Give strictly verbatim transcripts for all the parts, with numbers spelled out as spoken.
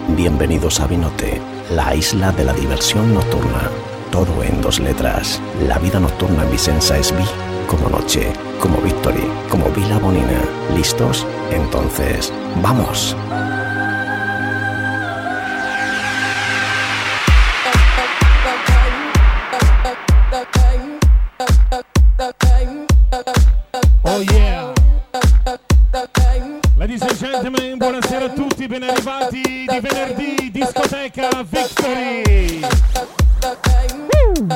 Bienvenidos a Vinote, la isla de la diversión nocturna. Todo en dos letras. La vida nocturna en Vicenza es Vi como noche, como Victory, como Vila Bonina. ¿Listos? Entonces, ¡vamos! Oh yeah! Ladies and gentlemen, buonasera a tutti, ben arrivati di venerdì, discoteca Victory! Woo!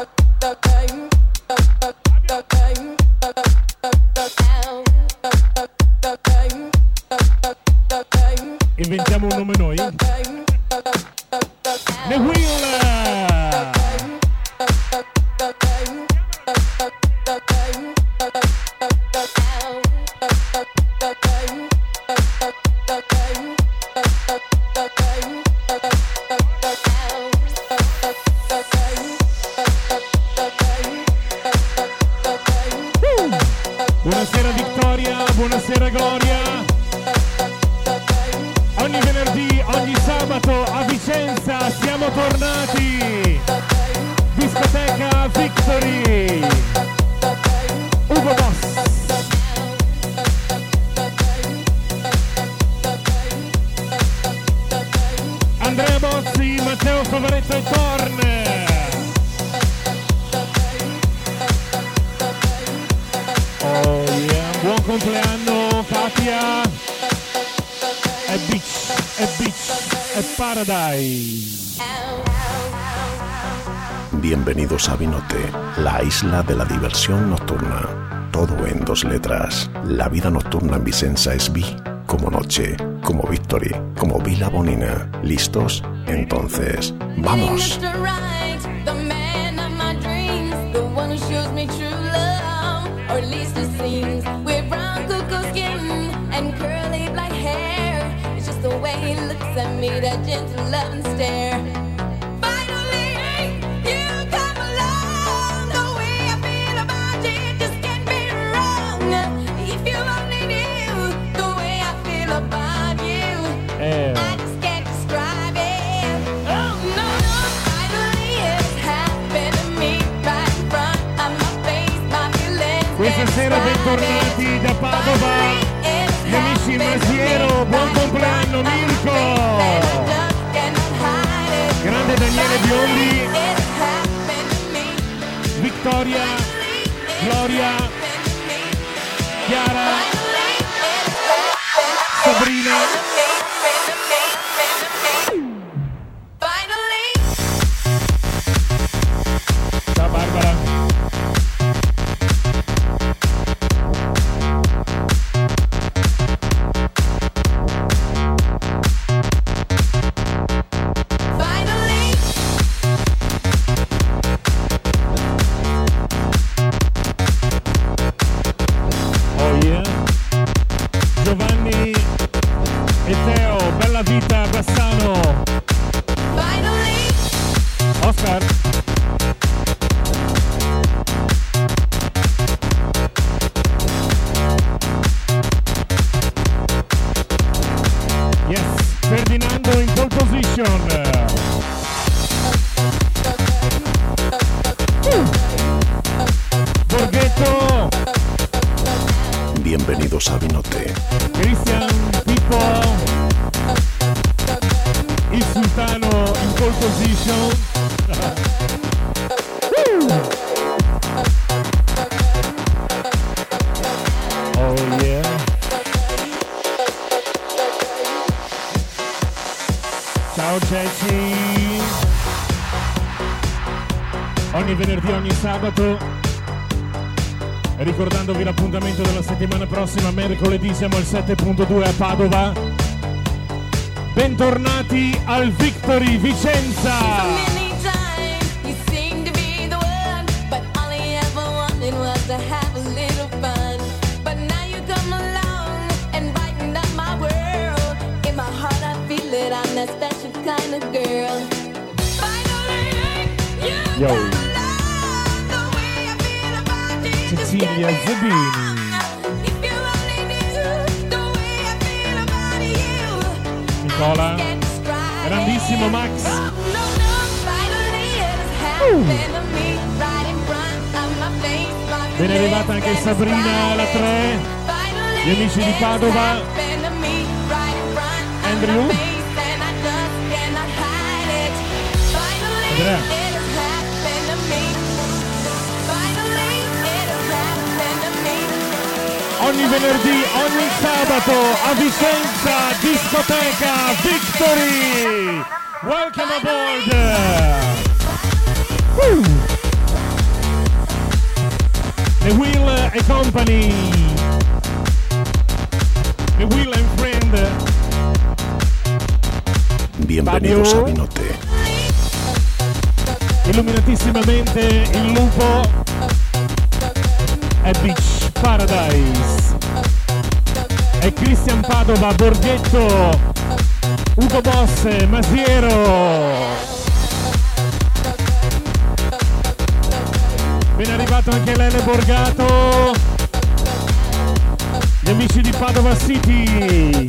Inventiamo un nome noi? The Wheel! Buonasera Vittoria, buonasera Gloria. Ogni venerdì, ogni sabato a Vicenza siamo tornati. Discoteca Victory. Ugo Boss. Andrea Bozzi, Matteo Favaretto e Torn. Oh yeah, buon compleanno Katia. È beach, è beach, è paradise. Bienvenidos a Vinote, la isla de la diversión nocturna. Todo en dos letras. La vida nocturna en Vicenza es Vi como noche, como Victory, como Vila Bonina. ¿Listos? Entonces, ¡vamos! Or at least it seems, with brown cuckoo skin and curly black hair. It's just the way he looks at me, that gentle loving stare. Finally, you come along. The way I feel about you just can't be wrong. If you only knew the way I feel about you, Eh. I just can't describe it. Oh no, no, finally it's happened to me right in front of my face, my feelings. Questa sera bentornati da Padova, gli amici Masiero, buon compleanno Mirko, grande Daniele Biondi, Vittoria, Gloria, Chiara, Sabrina. Ciao Barbara. Oh yeah. Giovanni e Teo, bella vita Bassano. Oscar. Yes, Ferdinando in pole position. Borghetto. Bienvenidos a Vinote. Christian, Pippo, il sultano in pole position. Oh yeah. Ciao Ceci. Ogni venerdì, ogni sabato. Ricordandovi l'appuntamento della settimana prossima, mercoledì siamo al sette punto due a Padova. Bentornati al Victory Vicenza! Yo! Cecilia Zebini. Nicola. Grandissimo Max. Uh. Ben arrivata anche Sabrina alla tre. Gli amici di Padova. Andrew. Andrea. Ogni venerdì, ogni sabato a Vicenza, discoteca Victory. Welcome aboard. Woo. The Wheel e Company. The Wheel and Friend. Bienvenidos Fabio. a Vinote. Illuminatissimamente il lupo è Beach Paradise. È Cristian Padova, Borghetto, Ugo Bosse, Masiero. Ben arrivato anche Lele Borgato. Gli amici di Padova City.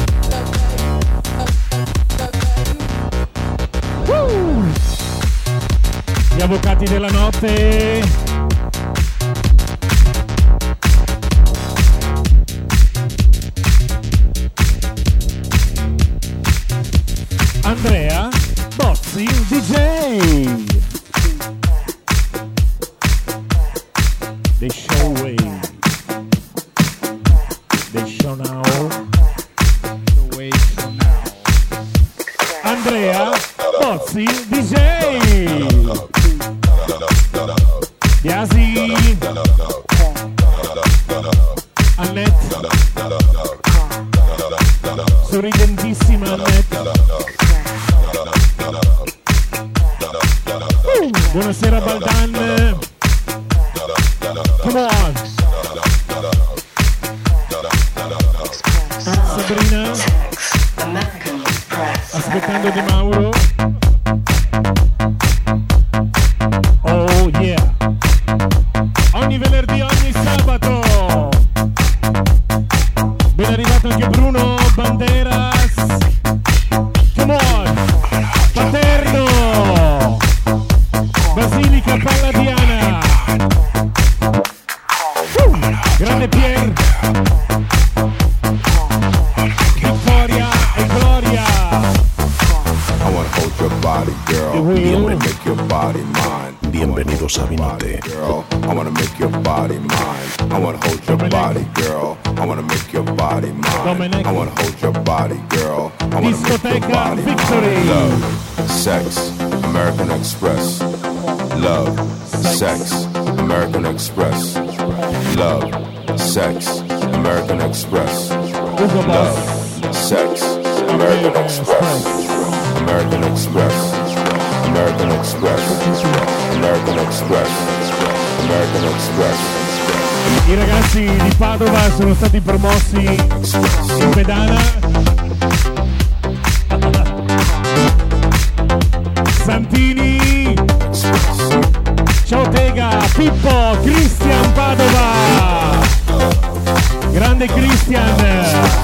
Woo! Gli avvocati della notte. Andrea Bozzi D J. The show way. The show now. The way show now. Andrea Bozzi D J. Biasi. Annette. Sorridentissima Annette. Buonasera Baldan. Come on. Sabrina. Aspettando Di Mauro. Oh yeah. Ogni venerdì, ogni sabato. Ben arrivato anche Bruno Banderas. Come on. Paterno. Basilica Palladiana. Uh, grande Pier. Vittoria e Gloria. I wanna hold your body, girl. I wanna make your body mine. Bienvenidos a Vinote. Girl, I wanna make your body mine. I wanna hold your body, girl. I wanna make your body mine. Dominic. I wanna hold your body, girl. I wanna make your Discoteca body Victory. mine. Love, sex, American Express. Love, sex, American Express. Love, sex, American Express. Ugo Boss. Love, sex, American Express. American Express. American Express. American Express. American Express. I ragazzi di Padova sono stati promossi in pedana. Santini. Ciao Tega, Pippo, Cristian Padova. Grande Cristian.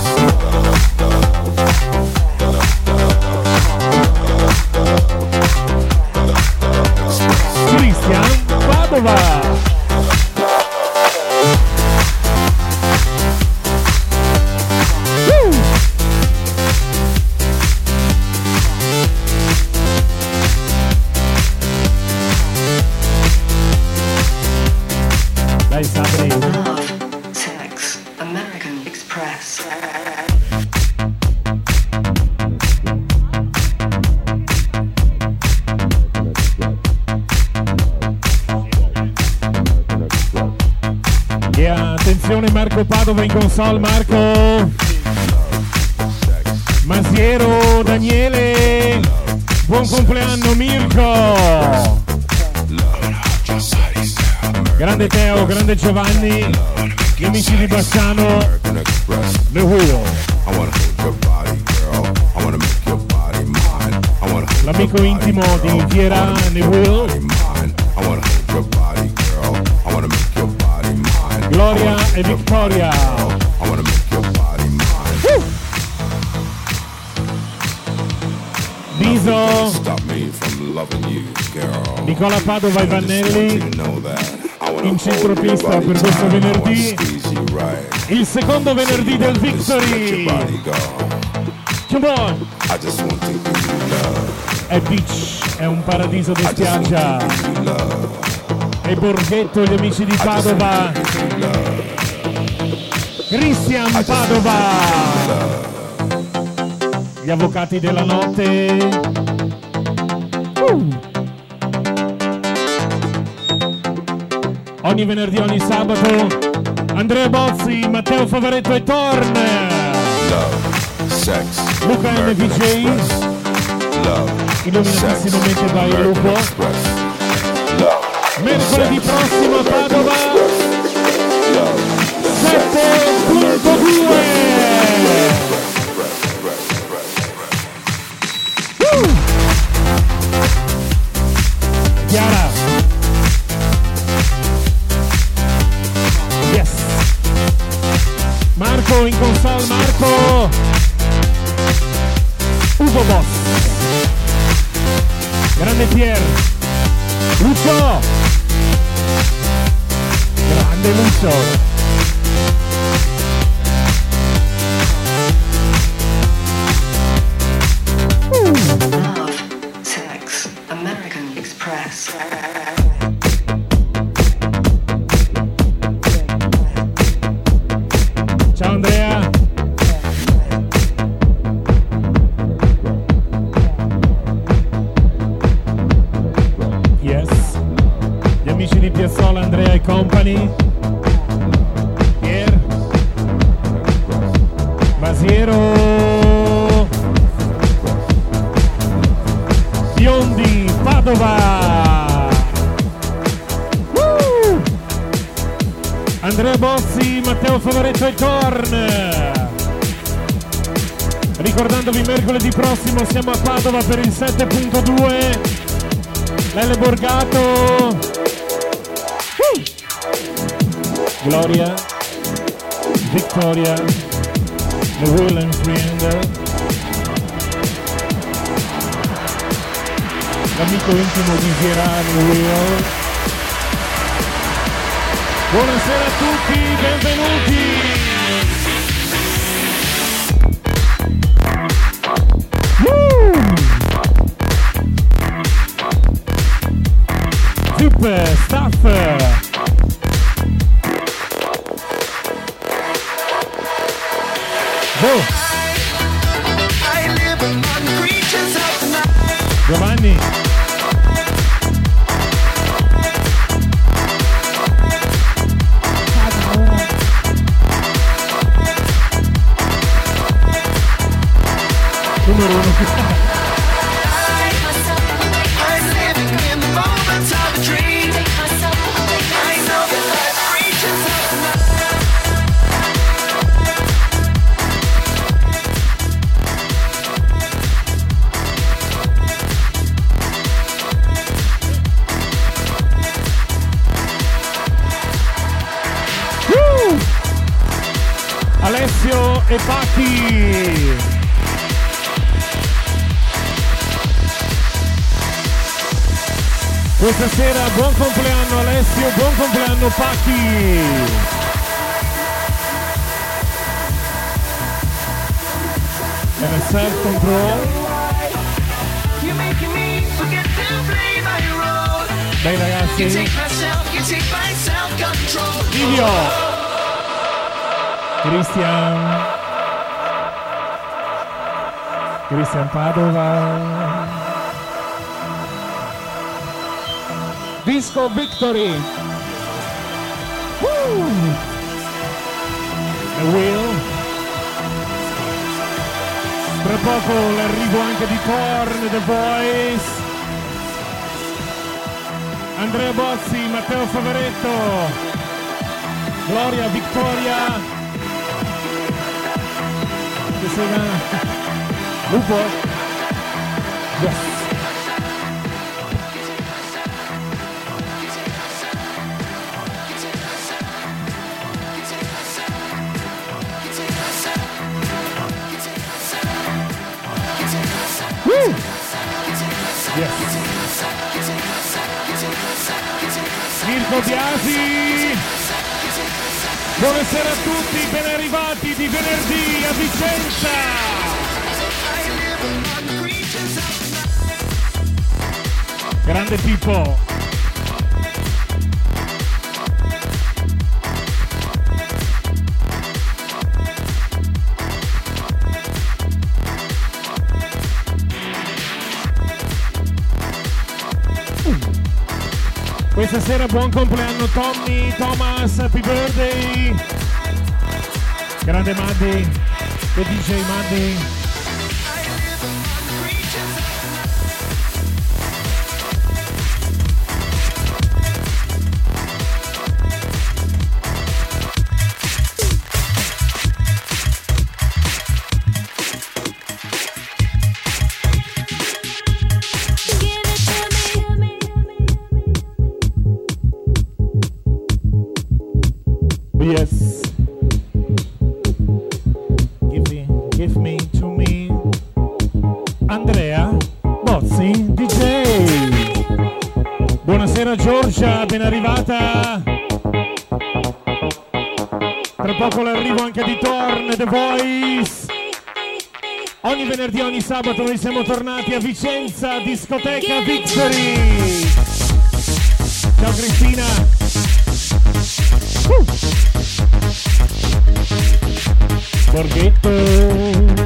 Cristian Padova. Dai Sabri. Love, sex, American Express. Yeah, attenzione Marco Padova in console, Marco. Masiero, Daniele. Buon compleanno Mirko. Grande Teo, grande Giovanni, gli amici di Bassano, The Wheel. L'amico intimo di Viera, The Wheel. Gloria e Victoria. Biso, Nicola Padova e Vannelli in centropista per questo venerdì, il secondo venerdì del Victory. Come on! È beach, è un paradiso di spiaggia. E Borghetto, gli amici di Padova. Christian Padova. Gli avvocati della notte. Uh. Ogni venerdì, ogni sabato, Andrea Bozzi, Matteo Favaretto e Torn. Luca M V J, illuminatissimamente by Lupo. Mercoledì prossimo a Padova, sette punto due. uh. Chiara. Yes. Marco in console, Marco. Ugo Boss. Grande Pier. Lucio. Grande Lucio. Love, sex, American Express. Ciao Andrea. Yes. Gli amici di Piazzola, Andrea e company. Pier. Basiero. Biondi, Padova. Woo! Andrea Bozzi, Matteo Favaretto e Torn. Ricordandovi, mercoledì prossimo siamo a Padova per il sette punto due. Lele Borgato. Woo! Gloria, Victoria, The Will and Friend. L'amico intimo di Gerardo Will. Buonasera a tutti, benvenuti. Woo! Super Staff. Go. Giovanni. Numero uno. Woo! Alessio e Pacchi. Questa sera buon compleanno Alessio, buon compleanno Pacchi. And a self-control. Dai ragazzi. Video. Christian. Christian Padova. Disco Victory. Woo! The Will. Tra poco l'arrivo anche di Korn, The Voice. Andrea Bozzi, Matteo Favaretto, Gloria, Victoria. Che sera. Lupo. Yes. Woo! Mirko Biasi, buonasera a tutti, ben arrivati di venerdì a Vicenza. Grande Pippo. Questa sera buon compleanno Tommy, Thomas, happy birthday. Grande Maddy, che D J Maddy. Yes. Give me, give me to me. Andrea Bozzi D J. Buonasera Giorgia, ben arrivata. Tra poco l'arrivo anche di Torn, The Voice. Ogni venerdì, ogni sabato noi siamo tornati a Vicenza, discoteca Victory. Ciao Cristina. Uh. Borghetto.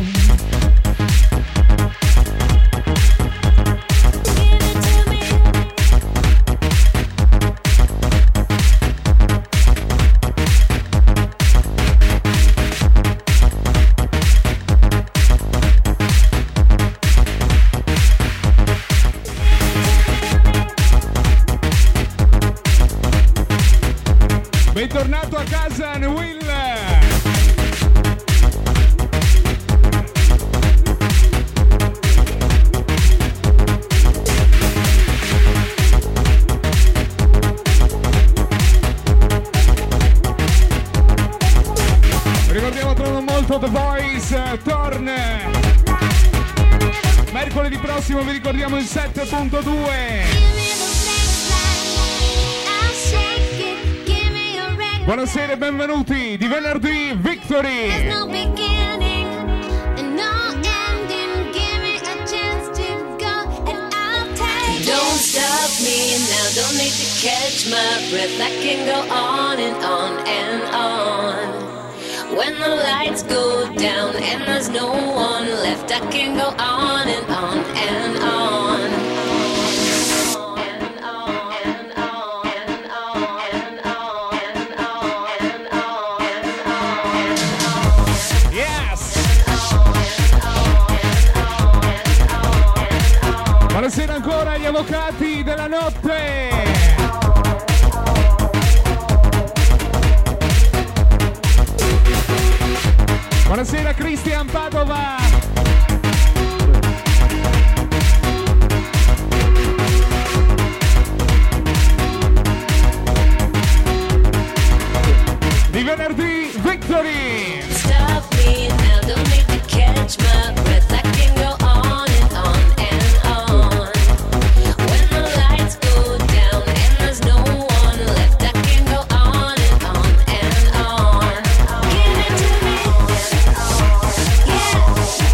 Bentornato a casa Will. Ricordiamo tra non molto The Voice Torn. Mercoledì prossimo vi ricordiamo il sette punto due. Buonasera e benvenuti di venerdì Victory. Don't stop me now, don't need to catch my breath. I can go on and on and on. When the lights go down and there's no one left, I can go on and on and on. Buonasera ancora agli avvocati della notte. Buonasera Cristian Padova. Di venerdì Victory. Stop me now, don't need to catch my breath. I can go on and on and on. When the lights go down and there's no one left, I can go on and on and on. Give it to me, yeah.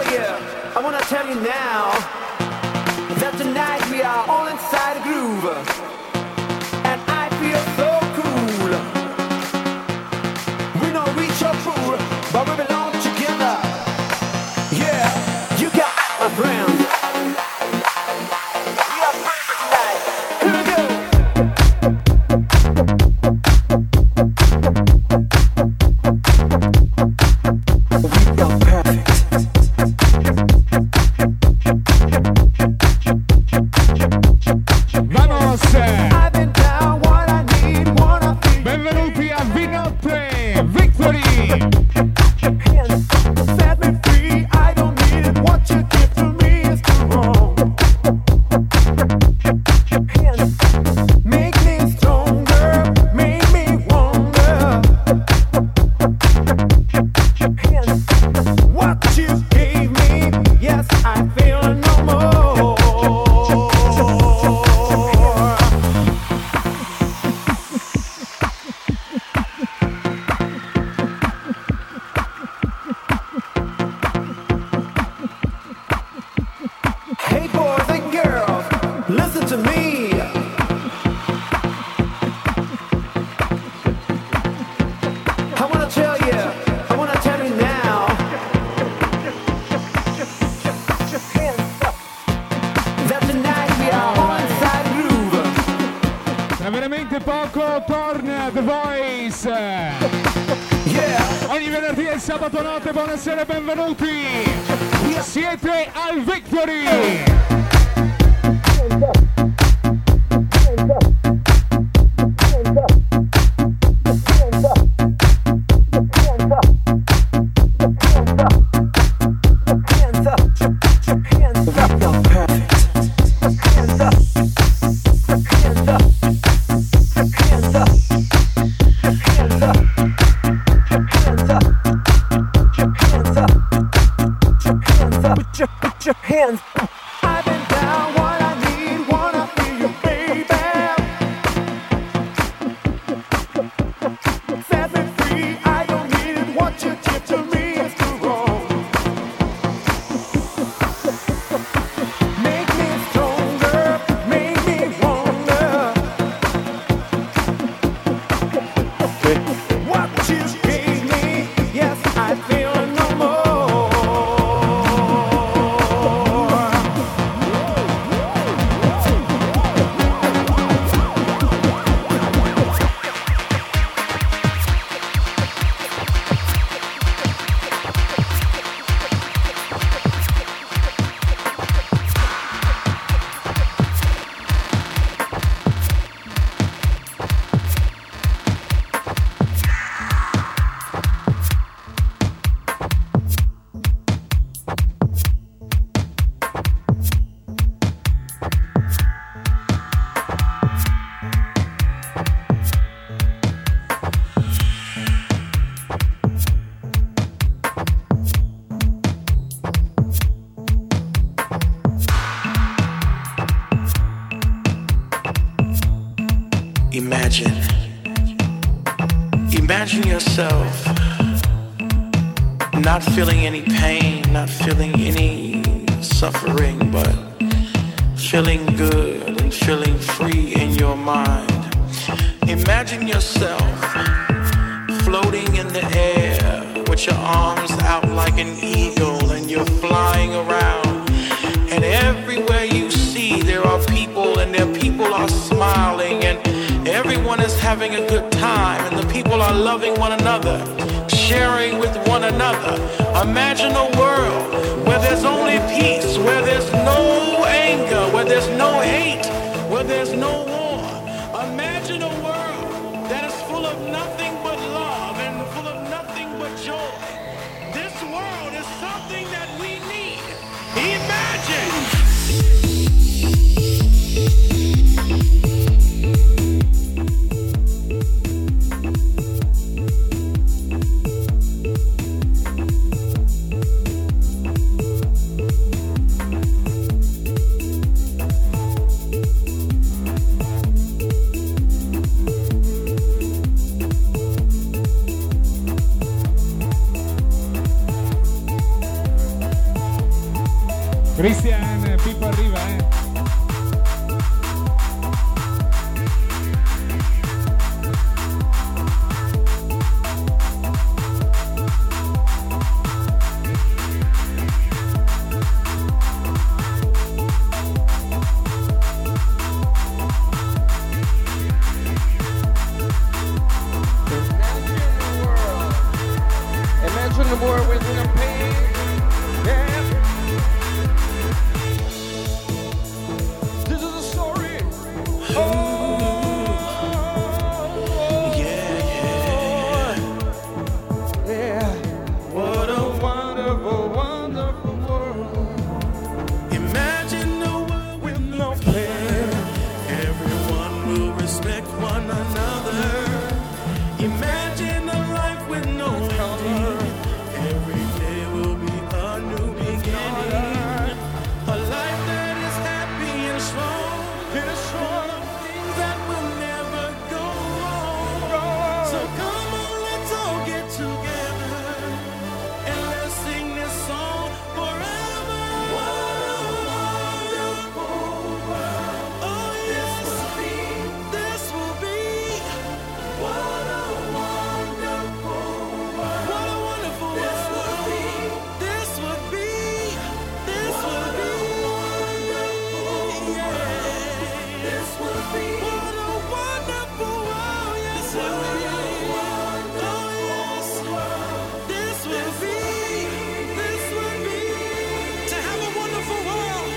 you, I wanna tell you now that tonight we are all inside a groove, and I feel so cool. We don't reach your pool, but we belong together. Yeah, you got my friends. We are perfect tonight. Here we go. We are perfect. Vamos! I've been down what I need, wanna feel. Benvenuti a Vinotte Victory! Set me free, I don't need it. What you give to me is too wrong. Make me stronger, make me wonder. What you gave me, yes, I feel no more. Hey boys and girls, listen to me. I wanna tell you, I wanna tell you now that tonight we are all inside groove. Tra veramente poco torna The Voice! Yeah, Ogni venerdì e sabato notte, buonasera e benvenuti! Siete al Victory! hands up, hands up, hands up, perfect. Hands up, hands up, hands up, hands up, hands up, hands up, hands up. Put your, put your hands up. I've been down what I need, wanna feel you, baby. Set me free, I don't need it. What you give to me is too wrong. Make me stronger, make me wonder. What you gave me, yes, I feel no more. Imagine, imagine yourself not feeling any pain, not feeling any suffering, but feeling good and feeling free in your mind. Imagine yourself floating in the air with your arms out like an eagle and you're flying around. And everywhere you see, there are people and their people are smiling and everyone is having a good time and the people are loving one another, sharing with one another. Imagine a world where there's only peace, where there's no anger, where there's no hate, where there's no war. Imagine a world that is full of nothing but love and full of nothing but joy. This world is something that we need. Imagine! Christian, Pippo arriva, eh. Imagine the world with no pain. Yeah. This is a story. Oh, yeah, yeah, yeah. What a wonderful, wonderful world. Imagine a world with no pain. Everyone will respect one another. Imagine a life with no ending. Every day will be a new beginning. A life that is happy and strong. It's strong. Things that will never go wrong. So come on, let's all get together and let's sing this song forever. What a wonderful world. Oh yes, this will be. What a wonderful world. What a wonderful world. This would be. This would be. Yeah. This would be. What a wonderful world. Yes, it would be. Oh yes. This would be. This would be. To have a wonderful world.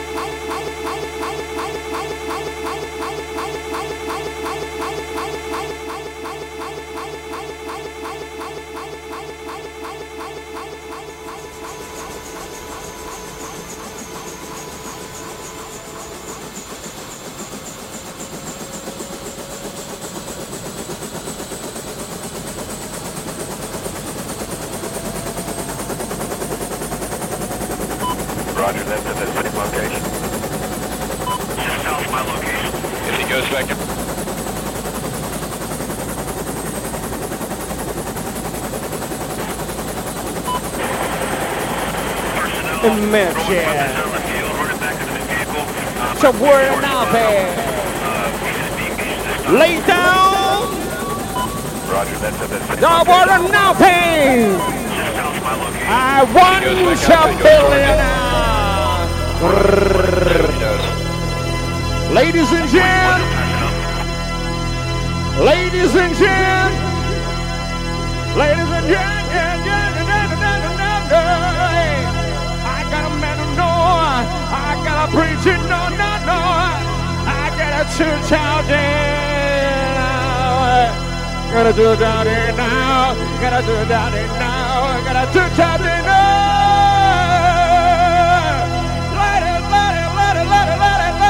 Roger, that's at the same location. Just south my location. If he goes back to... Imagine. So we're not there. Lay down. Roger, that's at the same I want nothing. Just south my location. I want a billionaire. Ladies and gentlemen. Ladies and gentlemen. Ladies and gentlemen. I got a man to know. I got a preacher, no, no, no. I got a church out there now. Gotta do it out there now. Gotta do it out there now. Gotta do it out there now. Let it, let it, let it, let it, let it,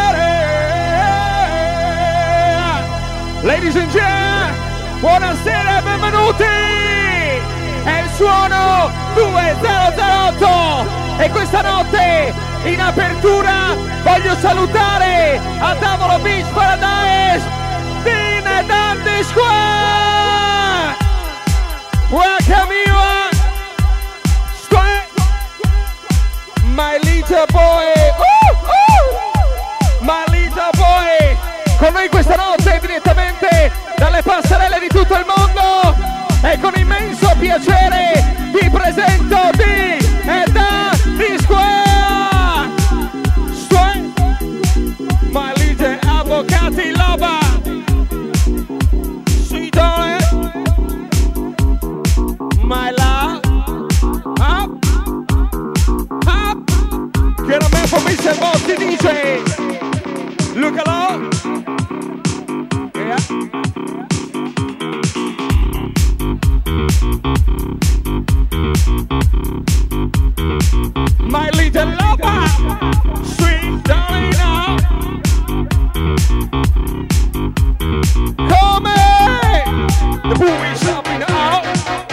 let it. Ladies and gentlemen, buonasera e benvenuti. È il suono duemilaotto e questa notte in apertura voglio salutare a tavolo Beach Paradise Dean e Dandy Square. Welcome you on Square, my little boy, uh, uh, my little boy, con noi questa notte direttamente dalle passerelle di tutto il mondo. E con immenso piacere vi presento di e da di Square, Square, my little avvocati loba, sweet darling, my love, up, up, get a man for mister Botti D J, look along, yeah. My little lover, sweet darling now. Come in, the boo is shopping out.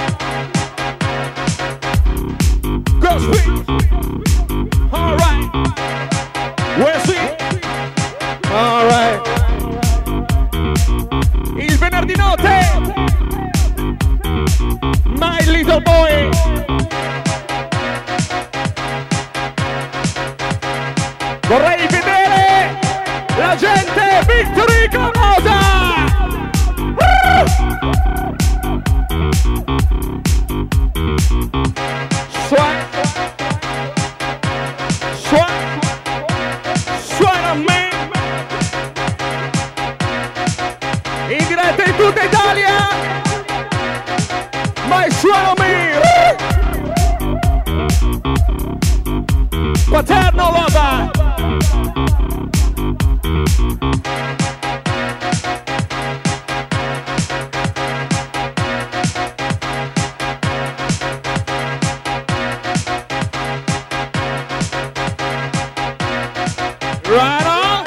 Girl sweet, alright. Where's sweet? Alright. Il venerdì notte, my little boy. Vorrei vedere la gente Victory Colosa! Suona, suona, suona a me, in diretta in tutta Italia, ma suona a me, Paterno Lova. Right on.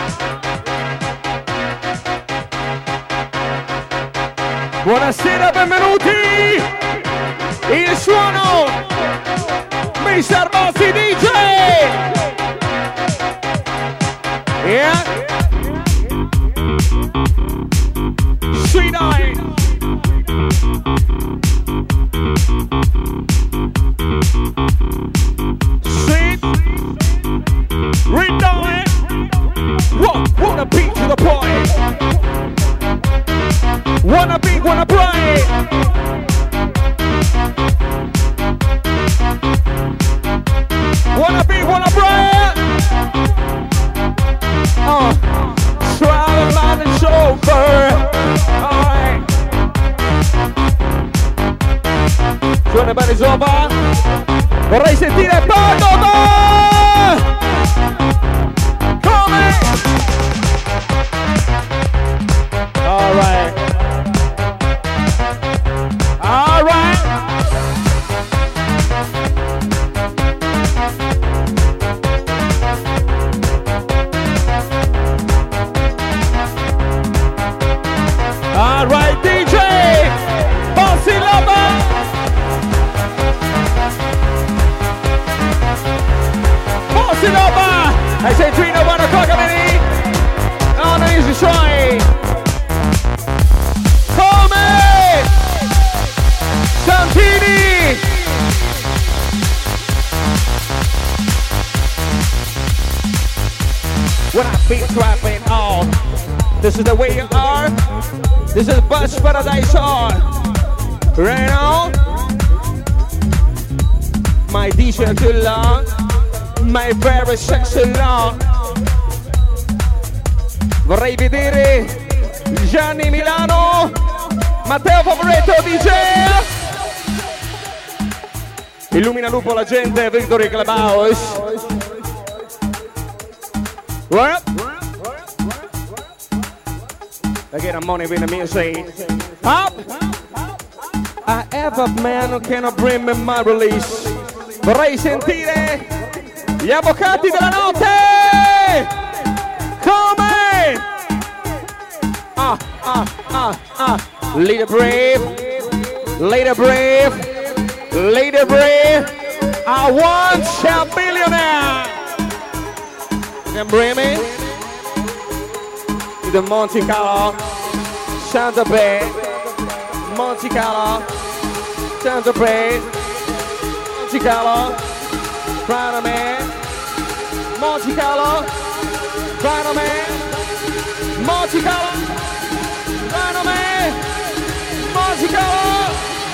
Buonasera, benvenuti. Il suono mister Bossi D J. Yeah. Sweet night. Sweet. Read down. Whoa, wanna beat to the point. Wanna beat, wanna play. Wanna beat, wanna play. Oh, swallow line and chauffeur. Alright. Suona bene Zova. Vorrei sentire Padova. All right. All right. All right, D J. Bossy Lover. Bossy Lover. I say three, no one o'clock a minute. On the easy try. Santini! When I feel trapping on, this is the way you are. This is Bus Paradise on. Right now, my D J too long, my very sexy long. Vorrei vedere Gianni Milano, Matteo Favoretto D J. Illumina lupo la gente, Victory Clubhouse. What? Again, I'm money with the music. Up! I have a man who cannot bring me my release. Vorrei sentire gli avvocati della notte! Come? Ah, ah, ah, ah. Leader brave, leader brave. Lady Brave, I want a billionaire. Can bring me to the Monte Carlo, Santa Fe, Monte Carlo, Santa Fe, Monte Carlo, front of me, Monte Carlo, front of me, Monte Carlo, front of me, Monte Carlo.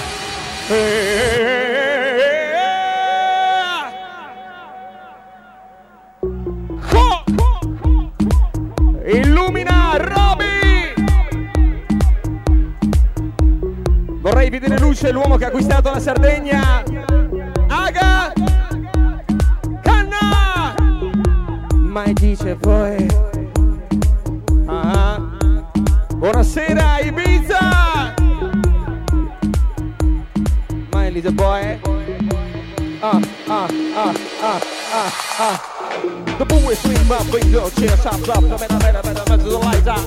Illumina Roby. Vorrei vedere luce l'uomo che ha acquistato la Sardegna. Aga Canna. Mai dice poi ah. Buonasera Ibiza. The boy, ah, ah, ah, ah, ah, ah. The boy swing my finger, chair, shop, drop, the man, man, man, man, the lights out.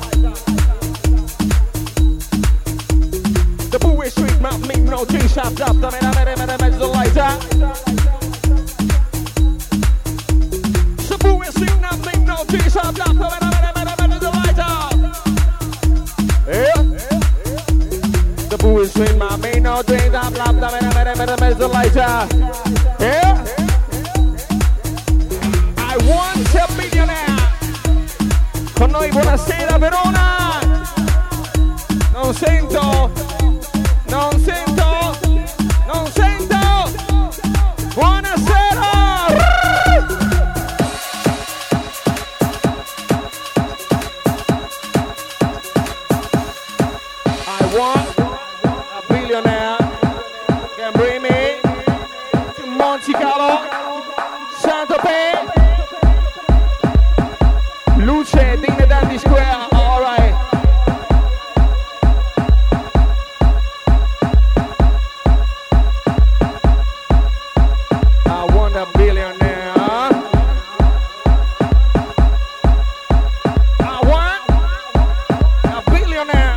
The boy swing my finger, no chair, shop, drop, the man, man, man, man, the lights out. The boy swing my finger, no chair, shop, drop, the man, man, man, man, the lights out. Yeah. The boy swing my finger, no chair, shop, drop, the man, man, man, man, the lights out. Yeah. I want to be con noi, buonasera Verona. Non sento, non sento, non sento. Buonasera. I want a billionaire can bring me to Monte Carlo, Saint-Tropez. Luce, Dine Dandy Square, alright. I want a billionaire. I want a billionaire.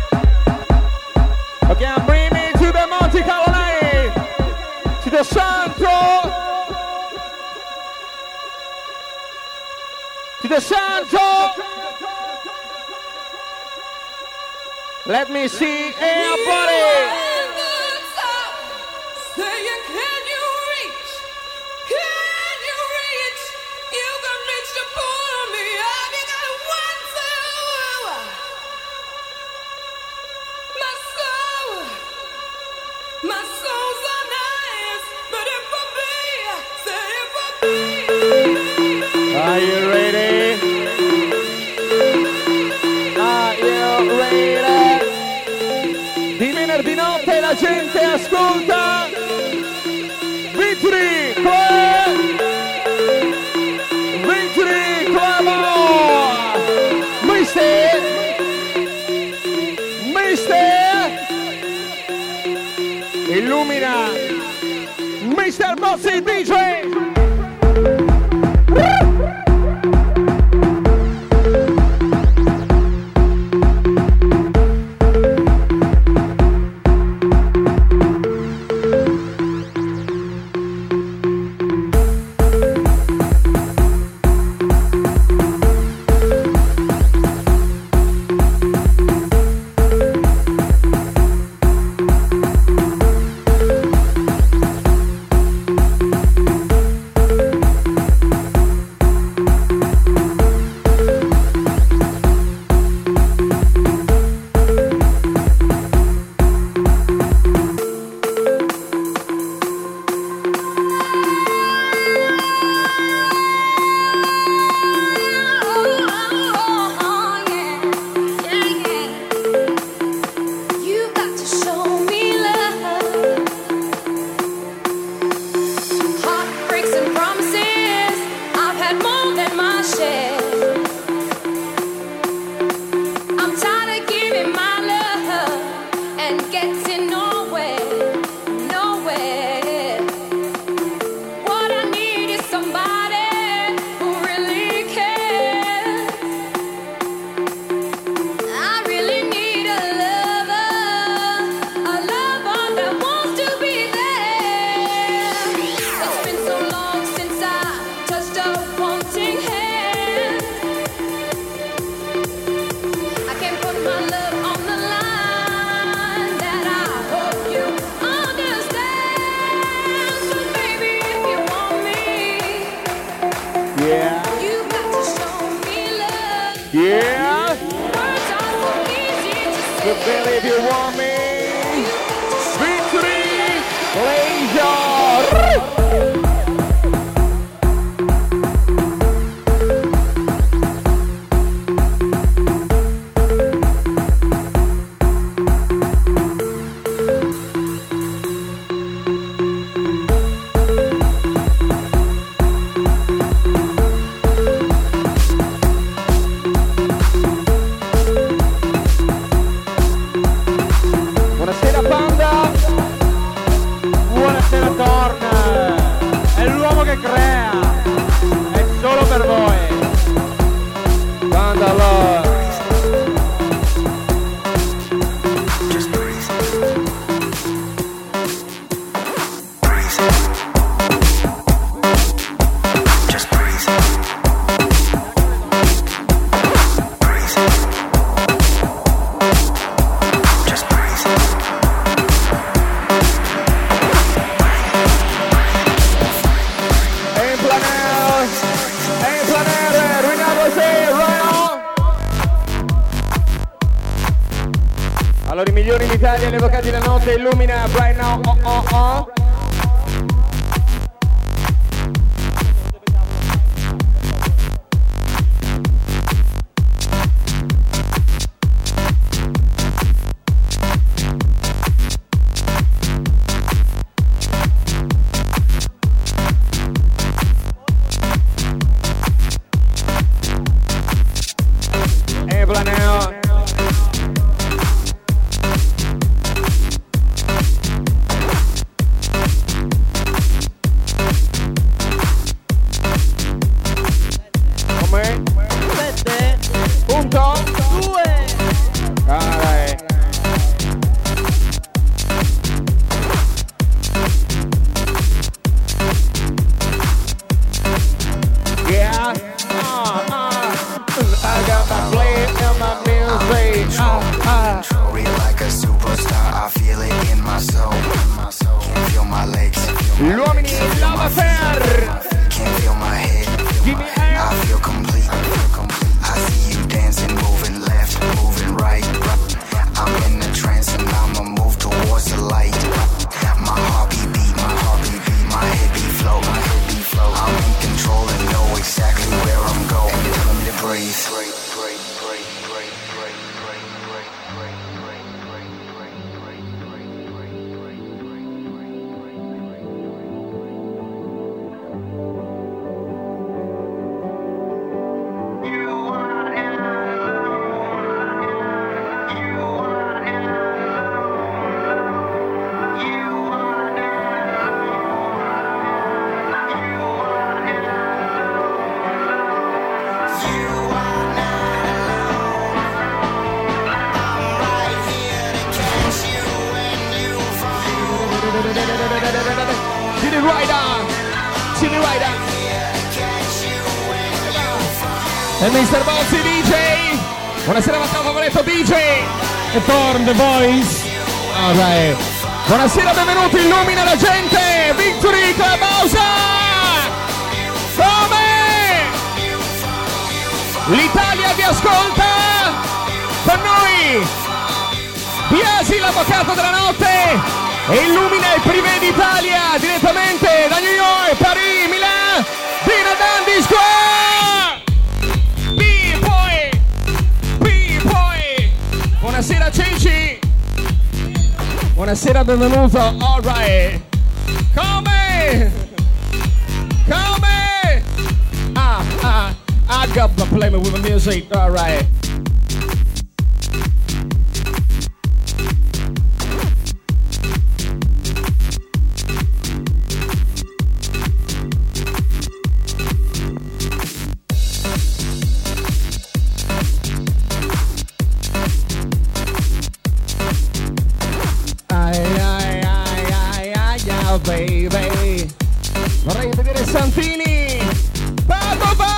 Okay, bring me to the Monte Carlo night, to the Santo. To the Santo. Let me see everybody. Are you ready? Are you ready? Di venerdì notte la gente ascolta Victory Club! Victory Club! Mister! Mister! Illumina! Mister Bossi D J! Hey, Allora i migliori in Italia, gli avvocati della notte, illumina right now. Oh oh oh. E mister Bozzi D J. Buonasera Matteo Favoretto D J. E Torn The Voice. Alright. Buonasera, benvenuti, illumina la gente. Victory Clubhouse. Come? L'Italia vi ascolta. Con noi Biasi, l'avvocato della notte, e illumina il privé d'Italia direttamente da New York, Paris, Milan, Dina Dandy Square. Buonasera Ceci. Buonasera, benvenuto. Alright. Come? Come? Ah, ah, I got to play me with the music. Alright. Baby, vorrei vedere Santini. Padova.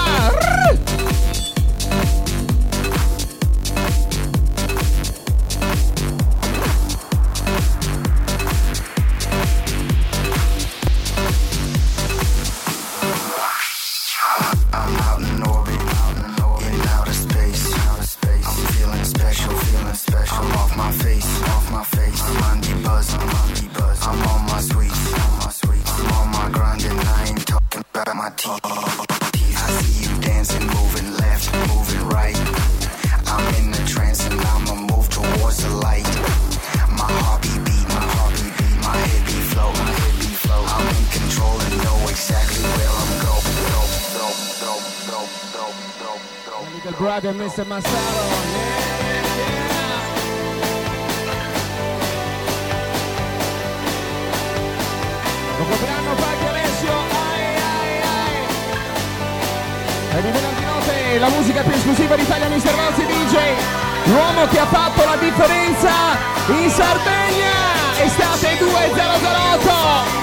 I'm out in orbit, in outer space. I'm feeling special, feeling special. I'm off my face, off my face. I'm on the buzz, I'm on the buzz. I'm on my sweet, on my sweet. I'm on my grind and I ain't talking about my teeth. I see you dancing, moving left, moving right. I'm in a trance and I'ma move towards the light. My heartbeat beat, my heartbeat beat, my head beat flow, my head beat flow. I'm in control and know exactly where I'm going. Little brother, mister Massaro. Yeah, yeah. Compleanno Pacchi Alessio. Ai, ai, ai. E di venerdì notte la musica più esclusiva d'Italia, mister Bozzi D J. L'uomo che ha fatto la differenza in Sardegna. Estate duemilaotto.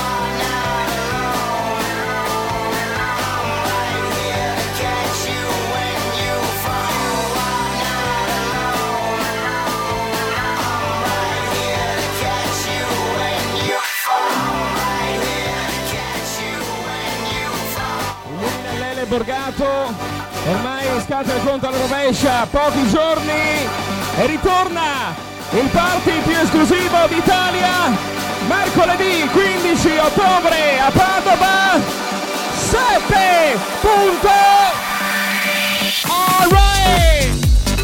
Borgato, ormai scatta il conto alla rovescia, pochi giorni e ritorna il party più esclusivo d'Italia, mercoledì quindici ottobre a Padova, sette punto all right.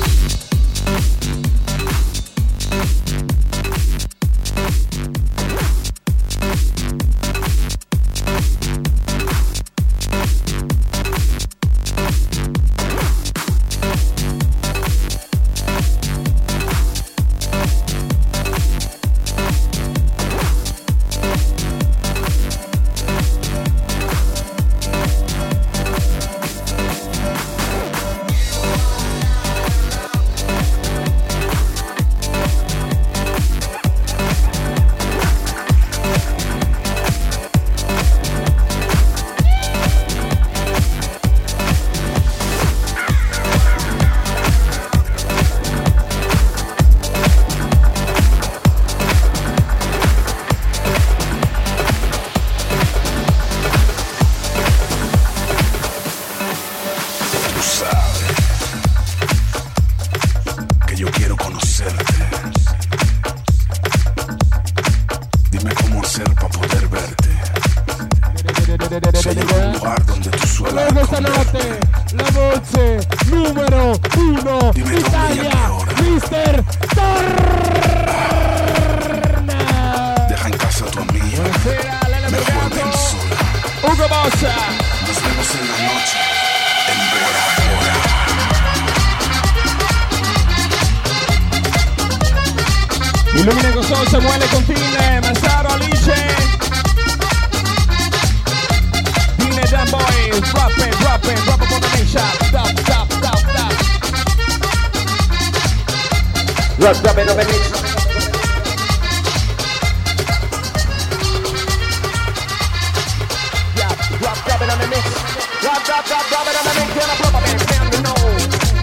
Illumina con Sol, Samuele Contine, Massaro, Alice, Dine Dan Boy, drop it, drop it, drop it on the main shot, stop, stop, stop, stop. Drop, drop it on the mix. Yeah, drop, drop it on the mix. Drop, drop, drop, drop it on the mix. Gonna drop it, man, you know.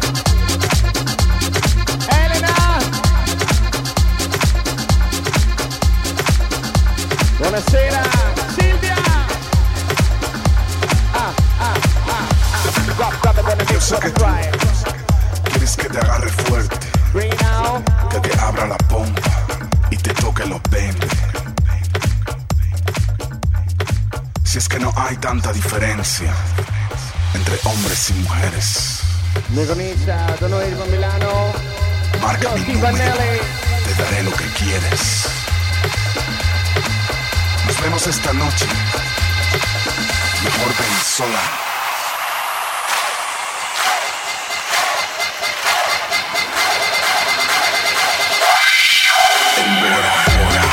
Buonasera Silvia. Ah, ah, ah, ah. Drop, drop it on the mix, drop it right. Quieres que te agarre fuerte, que te abra la pompa y te toque los veinte. Si es que no hay tanta diferencia entre hombres y mujeres. Mi comincia da noi con Milano. Marca mi número, te daré lo que quieres. Nos vemos esta noche. Mejor ven sola. En Bora Bora.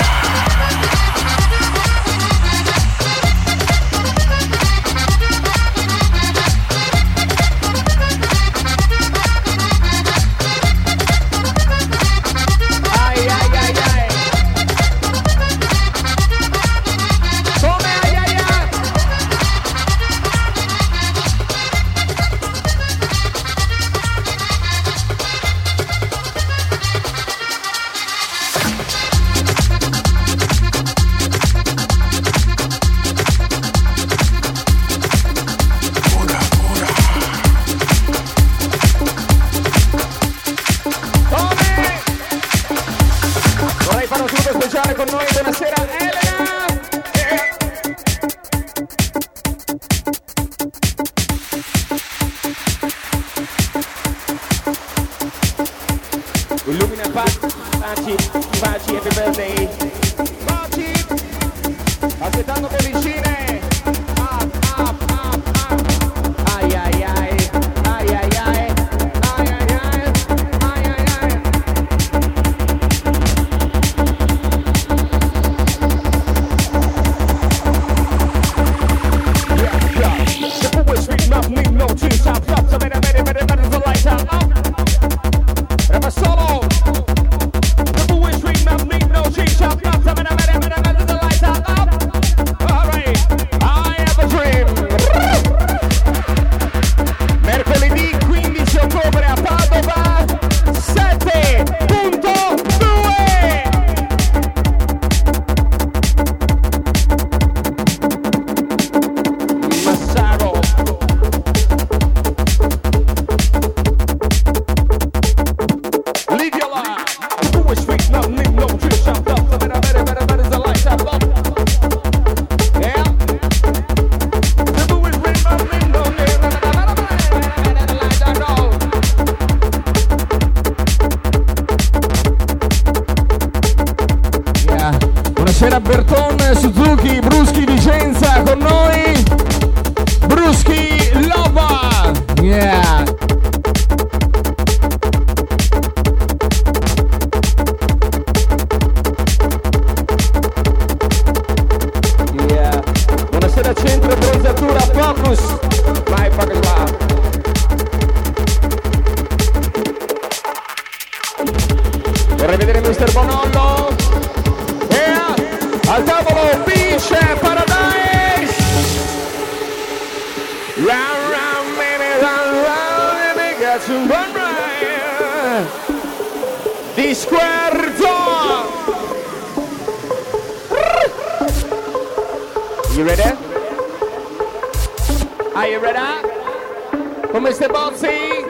Ay, ay, ay, ay. Come, ay, ay, ay. Vorrei fare un saluto speciale con noi, buonasera Elena! Illumina Paci, Paci, Paci, happy birthday! Paci! Aspettando bollicine! Up, up, up, up! Ai ai ai, ai ai ai, ai ai ai, ai ai ai! The boys speak not leave no two top top so better better better better the lights out up. Ever solo. The boys speak not leave no two top top so better better better better the lights out up. House. My fucking love. Vorrei vedere mister Bonollo. Yeah. Al tavolo Beach Paradise. Round, round, baby, round, round, and they got some run right. Di Squerzo. You ready? Are you ready? Con mister Bozzi?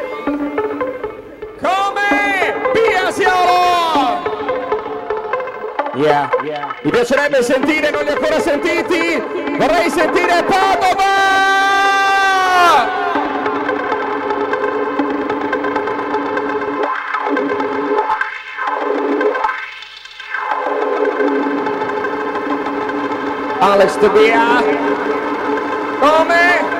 Come? Via Siolo! Yeah, yeah. Mi piacerebbe sentire, non li ho ancora sentiti. Vorrei sentire Padova! Alex Tobia. Come?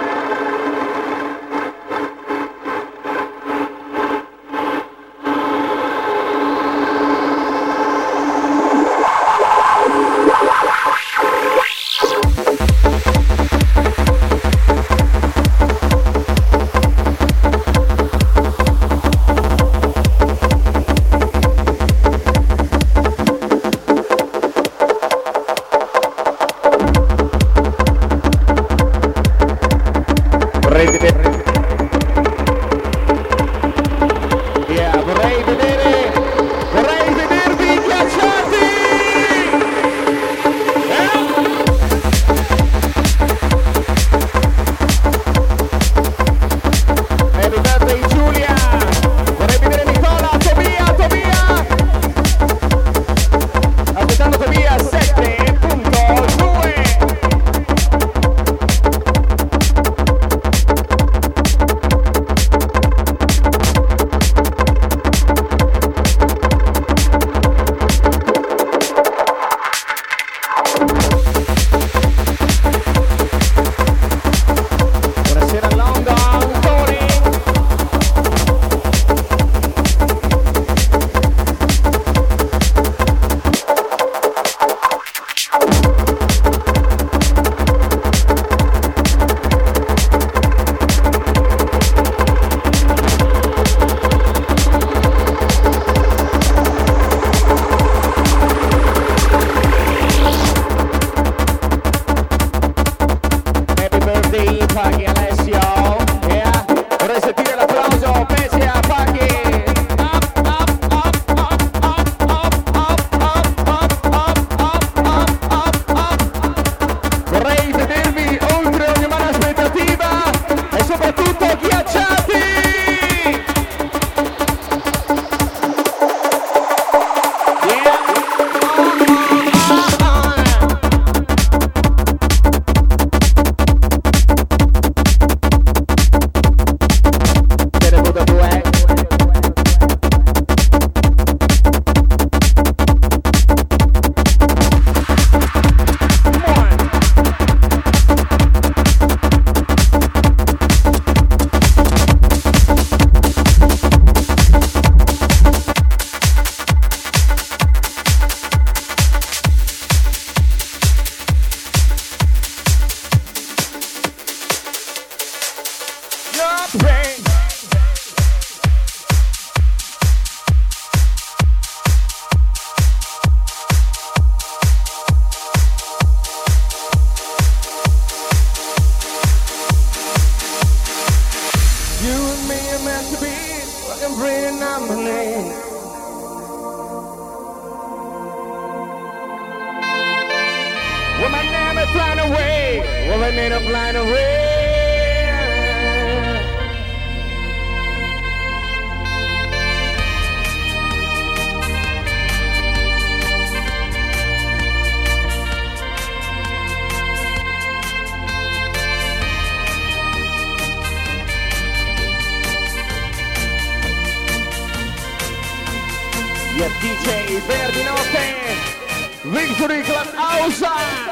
Yeah, D J Verdi Notte, Victory Club House.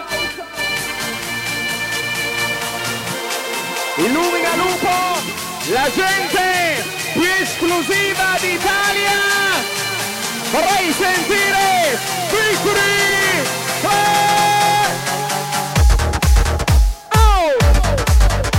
Illumina Lupo, la gente più esclusiva d'Italia. Vorrei sentire Victory. Oh!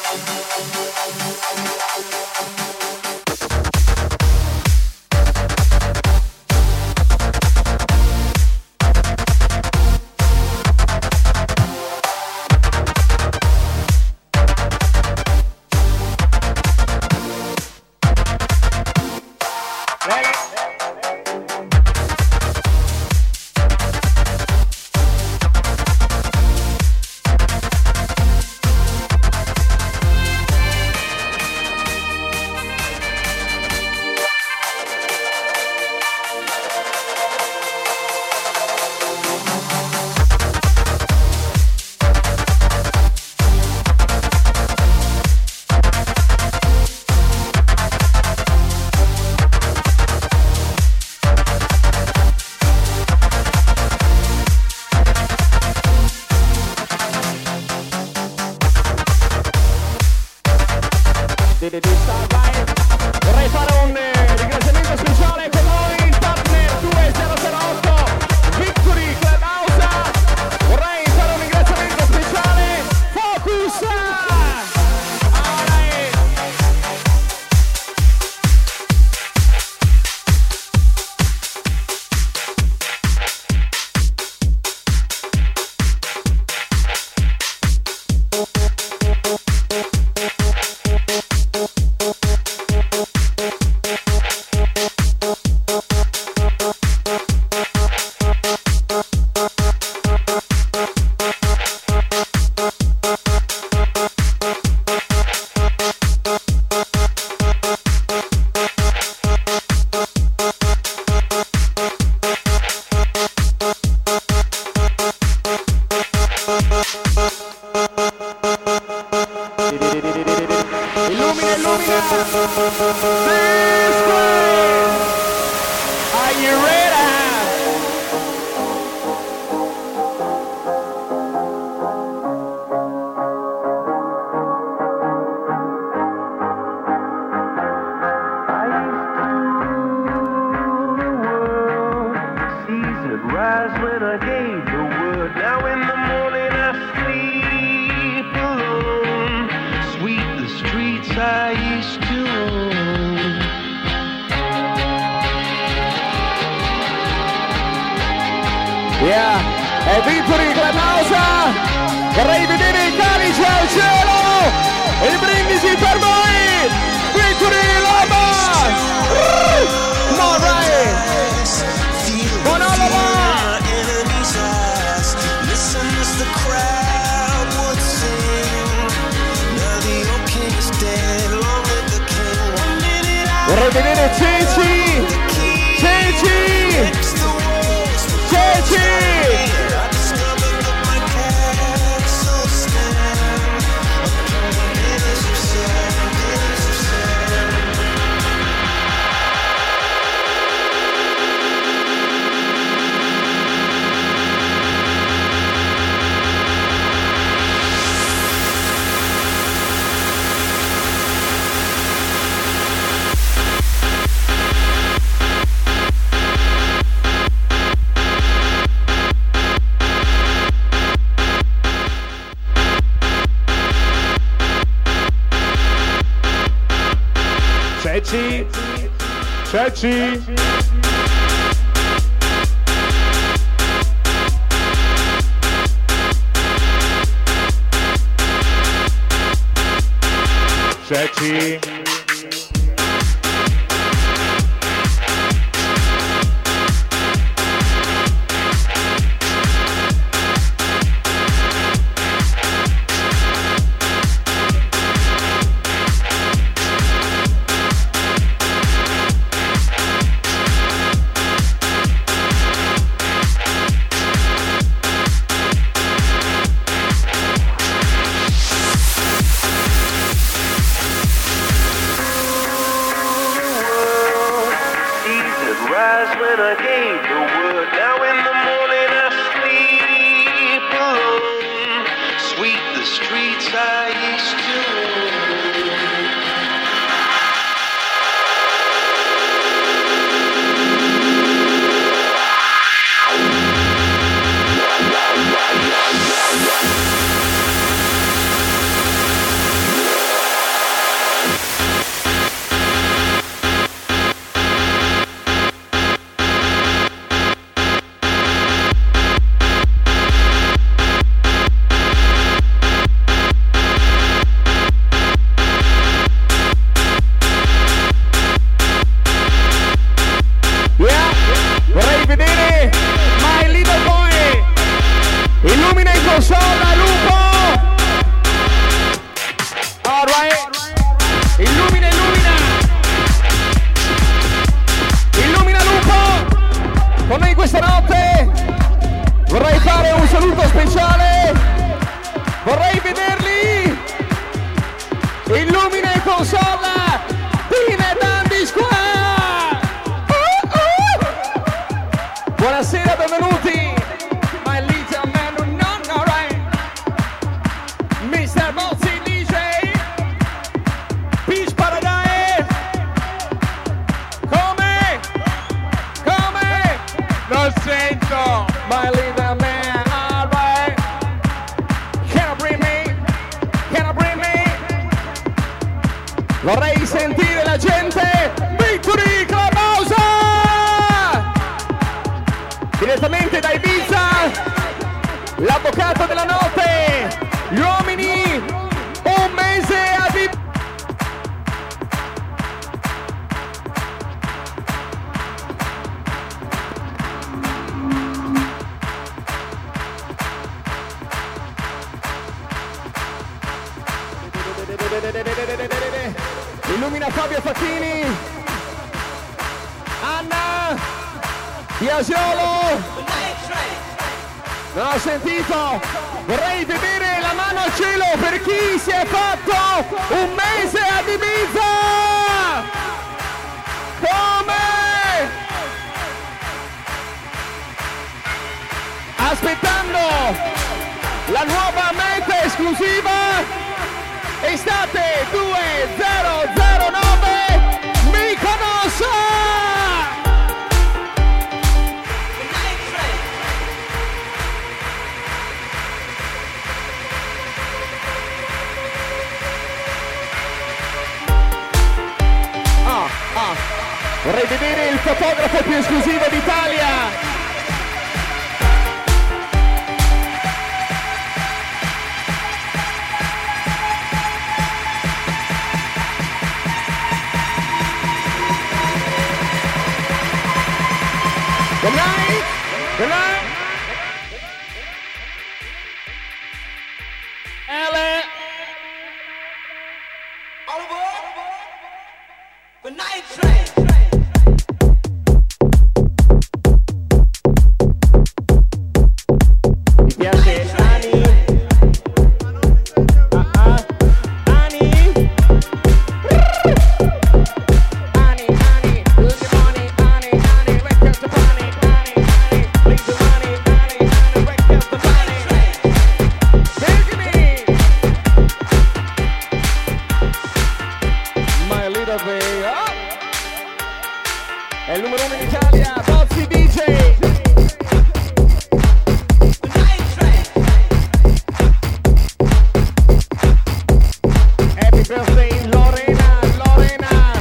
Vorrei fare un eh, ringraziamento speciale con noi il partner duemilaotto Victory Clubhouse. Vorrei fare un ringraziamento speciale Focus. Illumina, illumina! This way! Are you ready? Rise when I gave the word. Now in the morning I sleep alone. Sweep the streets I used to own. Yeah, è Victory Clubhouse. Vorrei vedere i calici al cielo e i brindisi per voi. Victory Lama. Come on, Ray. Buon Lama. Listen as the crowd would sing. Now the old king is dead, long live the king. One minute I Vorrei vedere Ceci. Ceci. Ceci. Ceci, Ceci. Ceci. saluto speciale, vorrei vederli, illumina e consola, Pine Dandy Square. Uh, uh. Buonasera, benvenuti, my little man who not know right, mister Mozzi D J, Peach Paradise, come, come, Lo sento! my little man, alright, can I bring me, can I bring me, vorrei sentire la gente, Victory Clubhouse, direttamente da Ibiza, l'avvocato della notte, gli uomini, un mese a Ibiza. Illumina Fabio Facchini, Anna Biasiolo, non ho sentito, vorrei vedere la mano al cielo per chi si è fatto un mese ad Ibiza, come? Aspettando la nuova meta esclusiva, estate duemilanove, Mykonos! Ah, ah, vorrei vedere il fotografo più esclusivo d'Italia! Good night. Good night. Ellen. All aboard. Good night, train. Mi piace Ani. Ah ah. Ani. Ani, Ani. Lose your money, Ani, Ani. Wake up the money. Leave the money, Ani, Ani. Wake up the money. Big me. My little way up. È il numero uno in Italia, Bozzi D J. Happy birthday Lorena, Lorena.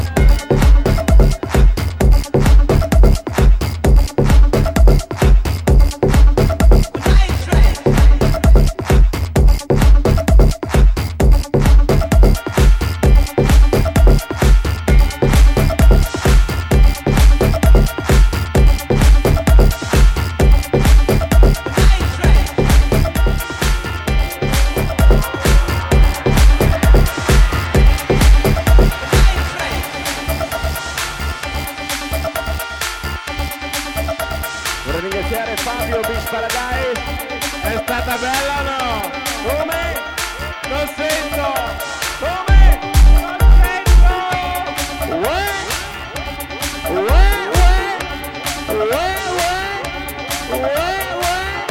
Vorrei ringraziare Fabio Beach Paradise. È stata bella o no? Come? Non sento! Come? Non sento! Uè! Uè, uè! Uè, uè! Uè, uè!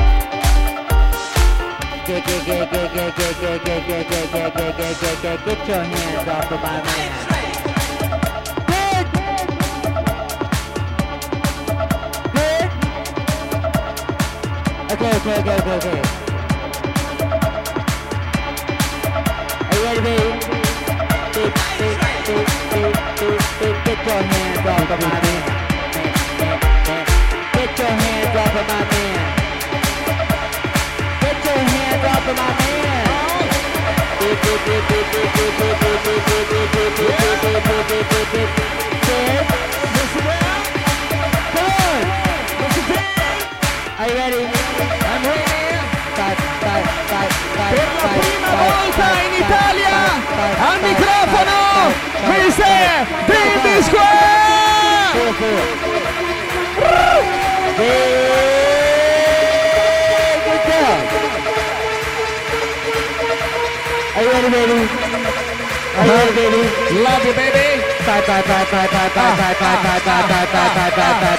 Get, get, get, get, get, get, get, get, get, get, get, get, get, get, get your hands off of my man. Okay, okay, okay, okay, okay. Are you ready, baby? Get, get, get, get, get, get your hands off of my man. Get your hands off of my man. Get your hands off of my man. Get, get, get, get, get, get, get, get, get, get, get, get, get, get, get, get, get. Listen well. Come on. Listen down. Are you ready? I'm ready. Per la prima volta in Italia al microfono mister Dandy Square. Good job. you ready, baby? Are you ready, baby? Love you, baby. Bye, bye, bye, bye, bye, bye, bye, bye, bye, bye, bye, bye, bye,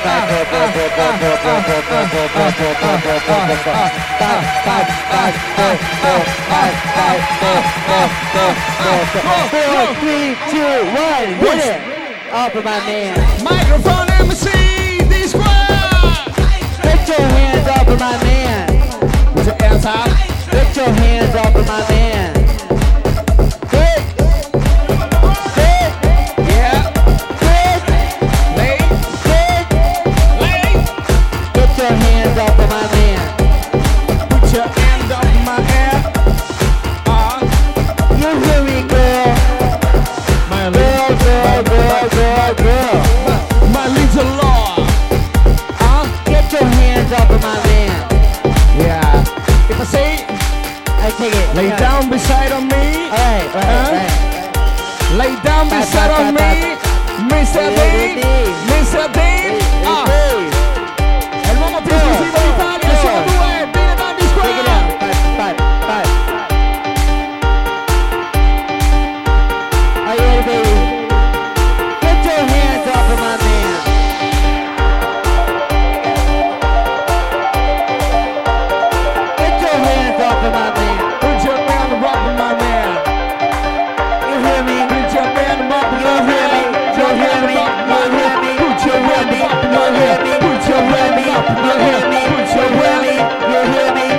Four, three, two, one, hit it! Up with my man. Microphone M C, D-Square! Put your hands up with my man. Put your hands up. Put your hands up with my man. Good. Good. Yeah. Good. Lay. Good. Lay. Put your hands up with my man. Put your hands up in my hair. Uh. You hear me, girl? My Girl, girl, girl, girl, girl. My little Lord. Uh, get your hands up with my man. Yeah. If I say, I take it. lay Yeah. down beside on me. Alright, alright, Huh? alright. Lay down Bye, beside bye, on bye, me. mister D. mister D. Ah. È l'uomo più esclusivo d'Italia. Sono due. Bene, Dandy Take it Square. out. Five, five, five. Are you ready, baby? Get your hands up with my man. Get your hands up with my man. Put your hand up with my man. You hear me? Put your hand up with You my hear me? man. You hear me? You hear me? Put your hand up with You my hear man. me? Put You your hear hand me? up with You my hear man. me? Put You your hear hand me? You hear me?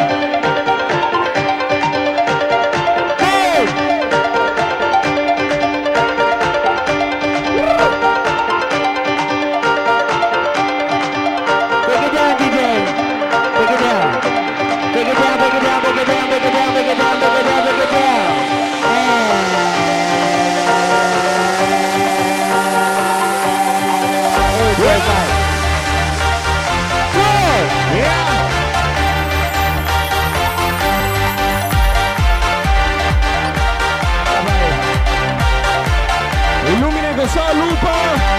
Hey! Take it down, D J. Take it down. Take it down, take it down, take it down, take it down, take it down, take it down, take it down. And... Oh, great fight. Good. Yeah. Illumina con Sao Lupo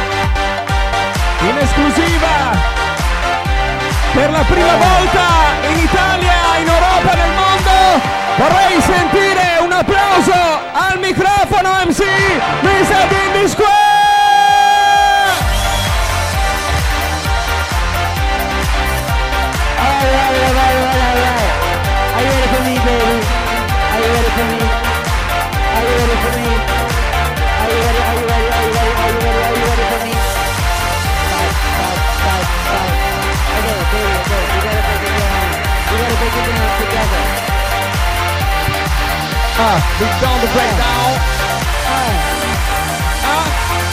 in esclusiva per la prima volta in Italia, in Europa, nel mondo. Vorrei sentire un applauso al microfono M C mister Dandy Square. All right, all right, all right, all right. Are you ready for me, baby? Are you ready for me? Are you ready for me? Are you ready? Are you ready? Are you ready? Are you ready? Are you ready for me? Five, five, five, five. Okay, baby, okay. We gotta break it down. We gotta break it down together. Ah, we've done the breakdown. Ah. Ah.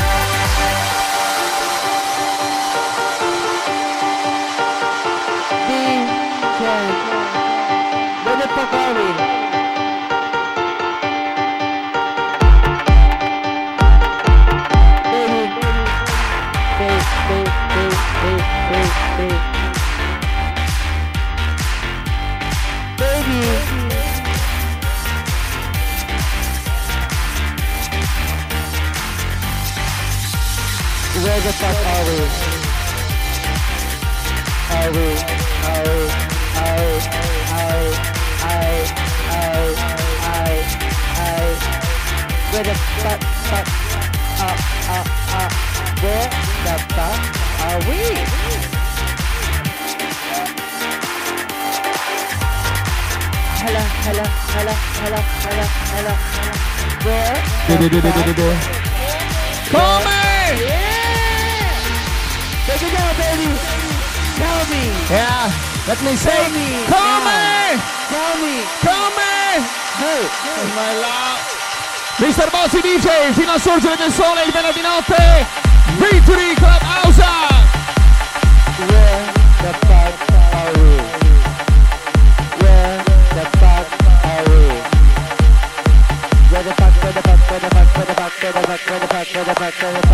D J, where the fuck are we? Baby, baby, baby, baby, baby, baby. Baby. Where the fuck are we? Are we? Are we? Are we? Are we? Are we? Are we? Are we? Are we? Where the fuck? Fuck? Uh, uh, uh. Where the fuck are we? Hello, hello, hello, hello, hello, hello. Where the fuck? Come! Yeah! Take it down, baby. Tell me. Yeah, let me say, Tell me. come! now. Tell me. Come! Hey. My love. mister Bossi D J fino al sorgere del sole il venerdì notte. Victory Clubhouse. Where the fuck are we? Where the fuck are we? Where the fuck, where the fuck, where the fuck, where the fuck, where the fuck, where the fuck, where the fuck, where the fuck?